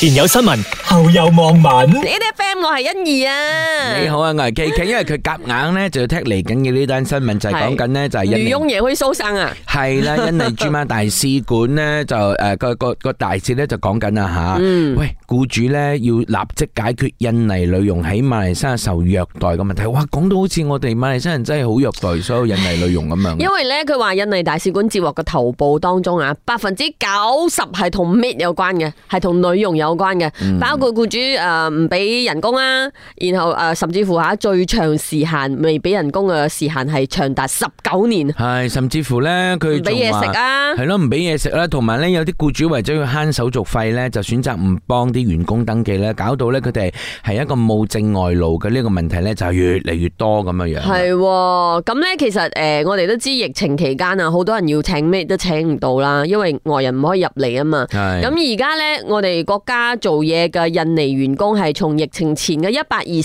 前有新聞，後有網民。 AFM 我係欣怡啊。 你好啊，我係 KK，因為佢夾硬咧就要踢嚟緊嘅呢單新聞就係講緊咧就係女傭也會收生啊。 係啦，印尼駐馬大使館咧就個大使咧就講緊啦吓，喂，僱主咧要立即解決印尼女傭喺馬來西亞受虐待嘅問題。哇，講到好似我哋馬來西亞人真係好虐待所有印尼女傭咁樣。 因為咧佢話印尼大使館接獲嘅投報當中啊，90%係同 maid 有關嘅，係同女傭有關嘅，包括僱主唔俾人工啊，然後甚至乎最長時限未俾人工嘅時限係長達19年。 係甚至乎咧佢唔俾嘢食啊， 係咯，唔俾嘢食啦，同埋咧有啲僱主為咗要慳手續費咧，就選擇唔幫啲員工登記咧，搞到咧佢哋係一個冇證外勞嘅呢個問題咧就越嚟越多咁樣樣。係咁咧，其實我哋都知疫情期間啊，好多人要請咩都請唔到啦，因為外人唔可以入嚟啊嘛。咁而家咧，我哋國家做嘢嘅印尼員工係從疫情前嘅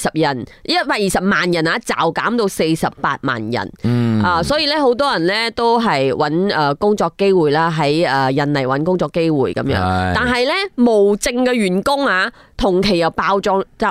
120萬人啊，驟減到48萬人。所以咧，好多人咧都係揾工作機會啦，喺印尼揾工作機會咁樣。但係咧，無證嘅員工啊，同期又爆漲咗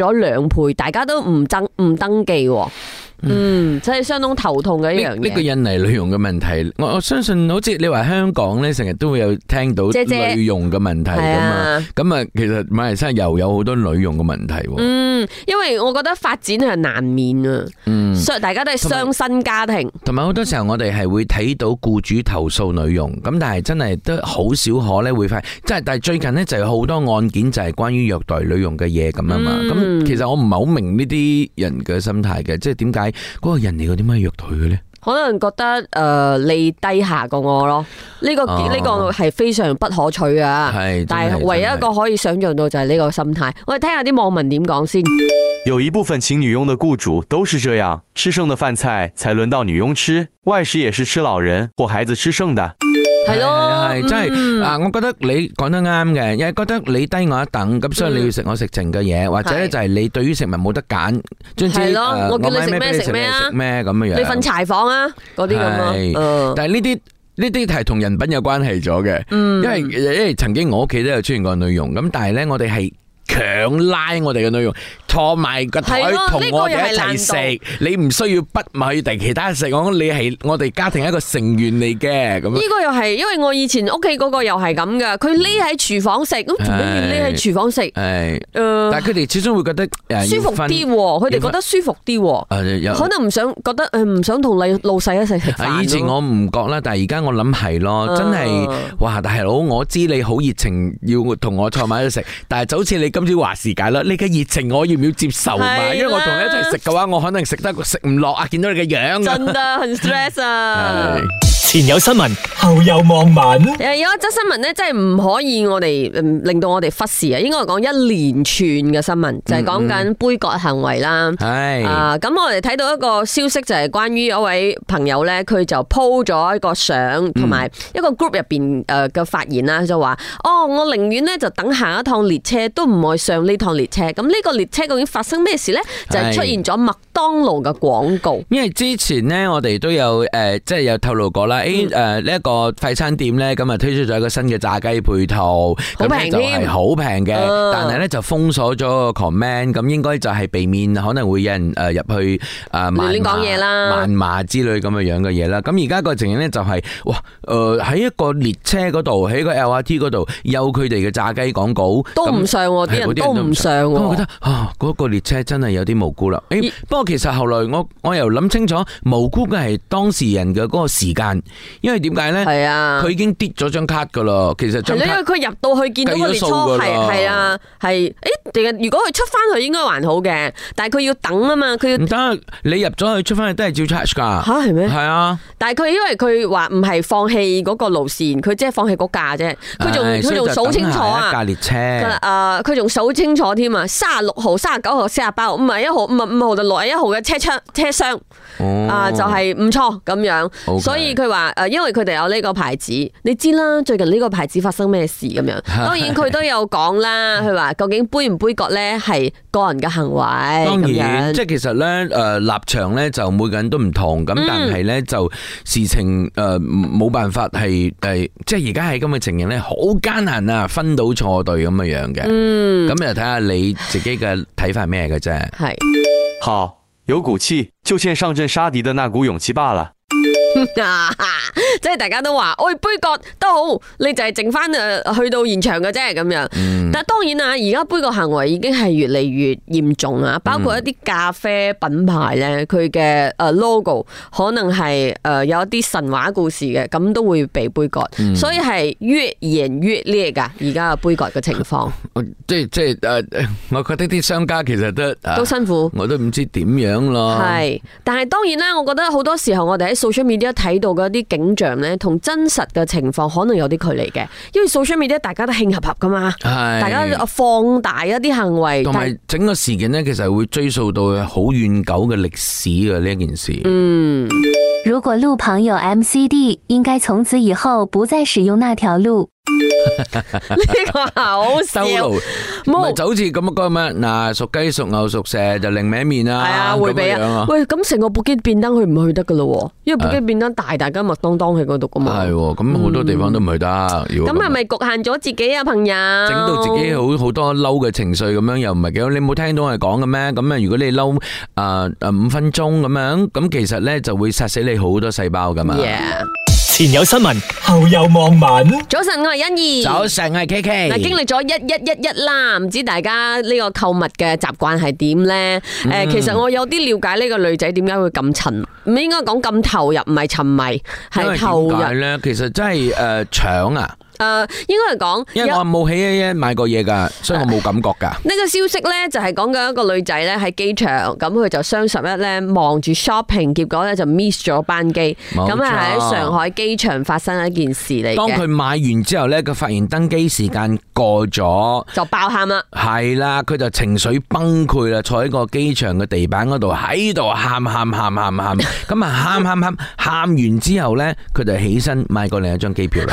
2倍，大家都唔登記。真係相當頭痛嘅一樣嘢。 呢個印尼女傭嘅問題，我相信好似你話香港咧，成日都會有聽到女傭嘅問題噶嘛。咁啊，其實馬來西亞又有好多女傭嘅問題。 因為我覺得發展係難免啊。所以大家都係雙薪家庭。同埋好多時候我哋係會睇到僱主投訴女傭，咁但係真係都好少可咧會發，即係但係最近呢，就有好多案件就係關於虐待女傭嘅嘢咁啊嘛。咁其實我唔係好明呢啲人嘅心態嘅，即係點解嗰個人嚟個點解虐待佢咧？ 可能覺得你低下過我咯，呢個係非常不可取啊！但係唯一一個可以想象到就係呢個心態。我哋聽下啲網民點講先。 有一部分請女傭的僱主都是這樣，吃剩的飯菜才輪到女傭吃，外食也是吃老人或孩子吃剩的。 係咯， 真係我覺得你講得啱嘅，因為覺得你低我一等，咁所以你要食我食剩嘅嘢，或者咧就係你對於食物冇得揀， 係咯，我叫你食咩食咩啊， 食咩咁樣樣， 你瞓柴房啊，嗰啲咁咯。 但係呢啲係同人品有關係咗嘅，因為曾經我屋企都有出現過女傭，咁但係咧我哋係強拉我哋嘅女傭坐埋個台同我哋一齊食，你唔需要逼埋去第其他食，你係我哋家庭一個成員嚟嘅。咁呢個又係，因為我以前屋企嗰個又係咁噶，佢匿喺廚房食，咁做咩要匿喺廚房食？ 但係佢哋始終會覺得舒服啲，佢哋覺得舒服啲，可能唔想同老細一齊食飯。 以前我唔覺啦，但係而家我諗係咯，真係哇！大佬，我知你好熱情，要同我坐埋一齊食，但係就好似你今朝話事解啦，你嘅熱情我要唔要接受嘛？因為我同你一齊食嘅話，我可能食唔落啊！見到你嘅樣， 真的很 stress 啊！ 前有新聞，後有網民。 有一則新聞咧，真係唔可以我哋令到我哋忽視啊！應該講一連串嘅新聞，就係講緊杯葛行為啦。係咁我哋睇到一個消息，就係關於一位朋友咧，佢就 po 咗一個相，同埋一個 group 入邊嘅發言啦，就話我寧願咧就等下一趟列車，都唔愛上呢趟列車。咁呢個列車究竟發生咩事咧？就係出現咗麥當勞嘅廣告。 因為之前咧，我哋都有即係有透露過啦。呢一個快餐店咧，咁啊推出咗一個新嘅炸雞配套，咁咧就係好平嘅，但係咧就封鎖咗個 comment，咁應該就係避免可能會有人入去亂講嘢啦、 謾罵之類咁嘅樣嘅嘢啦。咁而家個情形咧就係喺一個列車嗰度，喺個 LRT 嗰度有佢哋嘅炸雞廣告， 都唔上喎，啲人都唔上喎。 我覺得嗰個列車真係有啲無辜啦。不過其實後來我又諗清楚，無辜嘅係當事人嘅嗰個時間。因為點解咧？係啊，佢已經跌咗張卡噶啦。其實張卡，因為佢入到去見到個列車係啊，係如果佢出翻去應該還好嘅，但係佢要等啊嘛，佢要唔得。 你入咗去出翻去都係照 charge 噶。 吓係咩？ 係啊。 但係佢因為佢話唔係放棄嗰個路線，佢即係放棄嗰架啫。佢仲數清楚啊。 一架列車。 佢仲數清楚添啊！36號、39號、48號，唔係1號、5號就61號嘅車廂。就係唔錯咁樣。所以佢話因為佢哋有呢個牌子，你知啦，最近呢個牌子發生咩事咁樣。當然佢都有講啦，佢話究竟杯唔杯杯葛咧係個人嘅行為。 當然，即係其實咧立場咧就每個人都唔同，咁但係咧就事情冇辦法係即係而家係咁嘅情形咧，好艱難啊，分到錯對咁嘅樣嘅。咁就睇下你自己嘅睇法係咩嘅啫。 係好，有股氣，就欠上陣殺敵的那股勇氣罷了。 即係大家都話，喂，杯葛都好，你就係剩翻去到現場嘅啫咁樣。但係當然啦，而家杯葛行為已經係越嚟越嚴重啊！包括一啲咖啡品牌咧，佢嘅logo 可能係有一啲神話故事嘅，咁都會被杯葛。所以係越演越烈噶，而家嘅杯葛嘅情況。 即係我覺得啲商家其實都辛苦， 我都唔知點樣咯。 係，但係當然啦，我覺得好多時候我哋喺 social media 睇到嗰啲景象咧，同真實嘅情況可能有啲距離嘅，因為 social media 大家都慶合合噶嘛，大家放大一啲行為， 同埋整個事件咧，其實會追溯到好遠久嘅歷史嘅呢一件事。 如果路旁有 MCD， 應該從此以後不再使用那條路。 呢個好笑， 唔係就好似咁個咩嗱，屬雞屬牛屬蛇就另歪面啦， 係啊，回避啊。喂，咁成個布基便當去唔去得噶咯？因為布基便當大家麥當當喺嗰度噶嘛。係， 咁好多地方都唔去得。咁係咪局限咗自己啊，朋友？ 整到自己好多嬲嘅情緒咁樣，又唔係幾好。你冇聽到我哋講嘅咩？咁啊，如果你嬲5分鐘咁樣，咁其實咧就會殺死你好多細胞噶嘛。 前有新聞，後有網民。 早晨，我係欣怡。 早晨，我係 KK。 嗱，經歷咗1111啦，唔知大家呢個購物嘅習慣係點咧？其實我有啲了解呢個女仔點解會咁沉，唔應該講咁投入，唔係沉迷，係投入。 點解咧？其實真係搶啊！ 應該係講， 因為我冇喺買過嘢噶，所以我冇感覺噶。 呢個消息咧就係講緊一個女仔咧喺機場，咁佢就雙11咧望住 shopping， 結果咧就 miss 咗班機，咁係喺上海機場發生一件事嚟嘅。當佢買完之後咧，佢發現登機時間過咗， 就爆喊啦。係啦，佢就情緒崩潰啦，坐喺個機場嘅地板嗰度喺度喊，咁啊喊完之後咧，佢就起身買過另一張機票啦。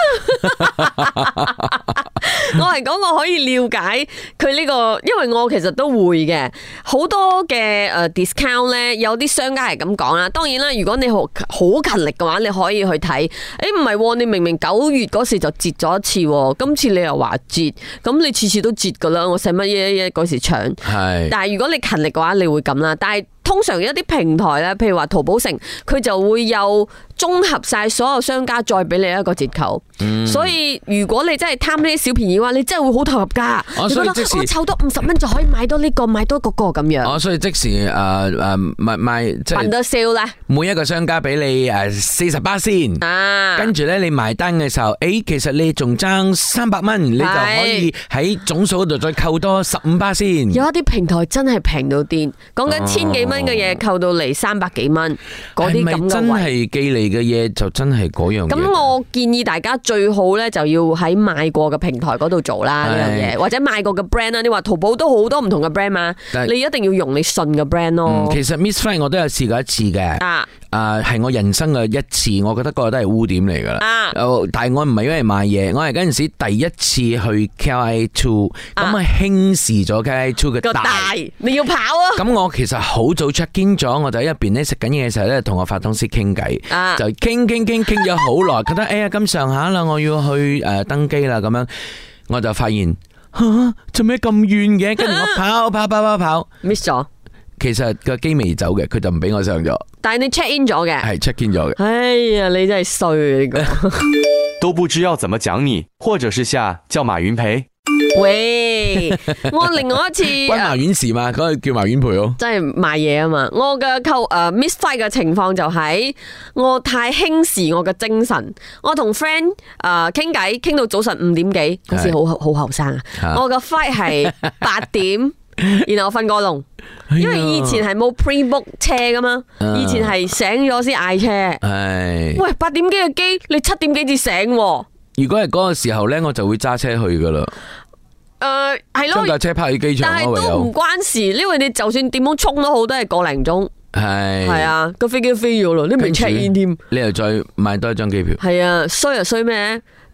我係講我可以了解佢呢個，因為我其實都會嘅，好多嘅discount 咧，有啲商家係咁講啦。當然啦，如果你好勤力嘅話，你可以去睇。唔係，你明明9月嗰時就折咗一次，今次你又話折，咁你次次都折噶啦，我使乜嘢嗰時搶？係。但係如果你勤力嘅話，你會咁啦。但係通常一啲平台咧，譬如話淘寶城，佢就會有綜合晒所有商家再俾你一個折扣。所以如果你真係貪呢啲小便宜嘅話，你真係會好投入噶。你覺得我湊多50蚊就可以買多呢個，買多嗰個咁樣。 所以即時賣即係辦得 sale 咧， 每一個商家俾你40%先。跟住咧你埋單嘅時候，其實你仲爭300蚊，你就可以喺總數嗰度再扣多15%先。 有一啲平台真係平到癲，講緊1000幾蚊嘅嘢扣到嚟300幾蚊，嗰啲咁嘅位。係咪真係寄嚟嘅嘢就真係嗰樣嘢？咁我建議大家最好咧就要喺買過嘅平台嗰度做啦呢樣嘢，或者買過嘅 brand 啦。你話淘寶都好多唔同嘅 brand 嘛，你一定要用你信嘅 brand 咯。其實 Miss Fly 我都有試過一次嘅，係我人生嘅一次，我覺得嗰個都係污點嚟噶啦。但係我唔係因為買嘢，我係嗰陣時第一次去 KLIA2，咁啊輕視咗 KLIA2嘅大，你要跑啊！咁我其實好早 check in 咗，我就喺入邊咧食緊嘢嘅時候咧，同我發通師傾偈，就傾咗好耐，覺得咁上下啦，我要去登機啦，咁樣我就發現做咩咁遠嘅？跟住我跑 miss 咗。其實個機未走嘅，佢就唔俾我上咗。但係你 check in 咗嘅，係 check in 咗嘅。哎呀，你真係衰呢個。 都不知要怎麼講你，或者是下叫馬雲賠。 喂，我另外一次關馬雲事嘛，嗰個叫馬雲賠咯，真係賣嘢啊嘛。我嘅miss fight 嘅情況就係我太輕視我嘅精神，我同 friend 傾偈傾到早晨5點幾，嗰時好後生啊。我嘅 fight 係8點。然後我瞓過籠，因為以前係冇 pre-book 車噶嘛，以前係醒咗先嗌車。喂，8點幾嘅機，你7點幾至醒。如果係嗰個時候咧，我就會揸車去噶啦。係咯，將架車泊喺機場，但係都唔關事，因為你就算點樣衝都好，都係個零鐘。係啊，個飛機都飛咗咯，你未 check in 添，你又再買多一張機票。係啊，衰就衰咩？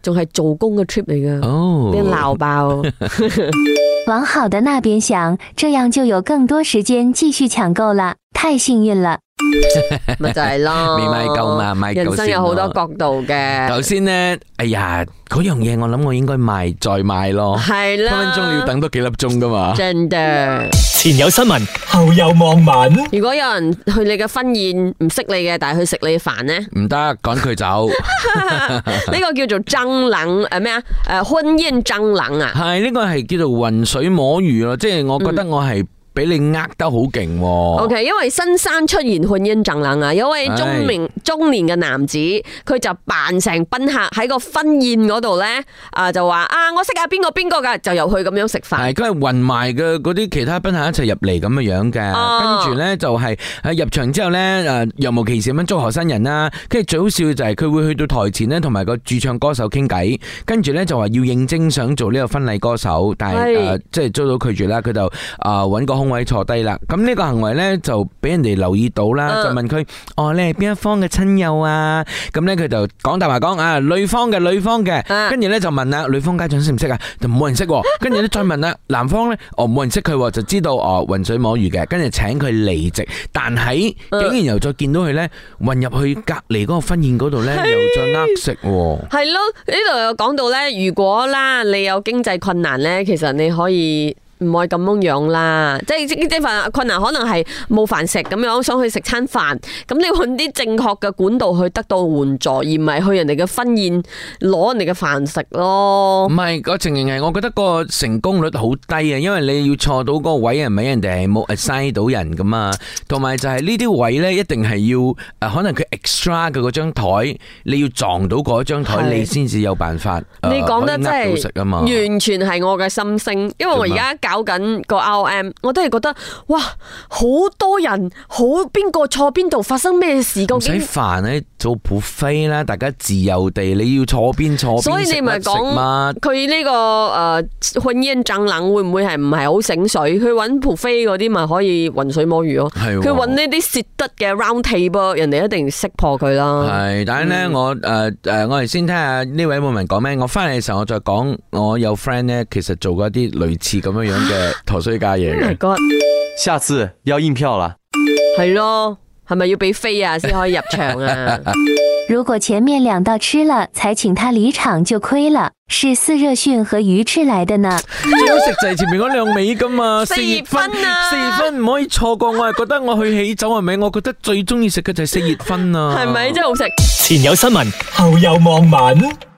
仲係做工嘅 trip 嚟噶，俾人鬧爆。 往好的那邊想，這樣就有更多時間繼續搶購啦，太幸運啦！ 咪就係咯， 未買夠嘛，買夠先咯。 人生有好多角度嘅。 頭先咧，哎呀，嗰樣嘢我諗我應該買再買咯， 係啦， 分分鐘你要等多幾粒鐘噶嘛。 真嘅。 前有新聞，後有網民。 如果有人去你嘅婚宴唔識你嘅，但係去食你嘅飯呢？ 唔得，趕佢走。 呢個叫做蟑螂咩啊？婚宴蟑螂啊？ 係呢個係叫做渾水摸魚咯，即係我覺得我係。俾你呃得好勁喎。 OK， 因為新山出現婚姻蟑螂啊，有位中年嘅男子，佢就扮成賓客喺個婚宴嗰度咧，就話我識下邊個邊個噶，就由佢咁樣食飯。係， 佢係混埋嘅嗰啲其他賓客一齊入嚟咁嘅樣嘅，跟住咧就係入場之後咧，若無其事咁樣祝賀新人啦。跟住最好笑嘅就係佢會去到台前咧，同埋個駐唱歌手傾偈，跟住咧就話要應徵想做呢個婚禮歌手，但係即係遭到拒絕啦。佢就揾個空位坐低啦，咁呢個行為咧就俾人哋留意到啦，就問佢你係邊一方嘅親友啊？咁咧佢就講大話講女方嘅，跟住咧就問啦，女方家長識唔識啊？就冇人識，跟住咧再問啦，男方咧冇人識佢，就知道渾水摸魚嘅，跟住請佢離席，但係竟然又再見到佢咧混入去隔籬嗰個婚宴嗰度咧，又再呃食。 係咯，呢度又講到咧，如果啦你有經濟困難咧，其實你可以。唔可以咁樣啦，即係份困難可能係冇飯食咁樣，想去食餐飯，咁你揾啲正確嘅管道去得到援助，而唔係去人哋嘅婚宴攞人哋嘅飯食咯。唔係個情形係，我覺得個成功率好低啊，因為你要坐到嗰個位係咪人哋係冇 assign 到人噶嘛，同埋就係呢啲位咧一定係要可能佢 extra 嘅嗰張台，你要撞到嗰張台，你先至有辦法。 你講得真係完全係我嘅心聲，因為我而家搞緊個 RM， 我都係覺得哇，好多人，好邊個坐邊度，發生咩事？究竟唔使煩咧，做 buffet 啦，大家自由地，你要坐邊坐邊， 所以你咪講佢呢個婚宴蟑螂會唔會係唔係好醒水？佢揾 buffet 嗰啲咪可以渾水摸魚咯。佢揾呢啲蝕得嘅 round table， 人哋一定識破佢啦。係， 但係咧我哋先聽下呢位網民講咩。我翻嚟嘅時候我再講，我有 friend 咧，其實做過一啲類似咁樣嘅陀衰家嘢嘅。 Oh my God， 下次要應票啦。 係咯，係咪要俾飛啊先可以入場啊？ 如果前面2道吃了才請他離場就虧了，是四熱訓和魚翅來的呢。 最好食就係前面嗰2味噶嘛，4熱分啊，4熱分唔可以錯過。我係覺得我去喜酒係咪？我覺得最中意食嘅就係4熱分啊， 係咪真係好食？ 前有新聞，後有網民。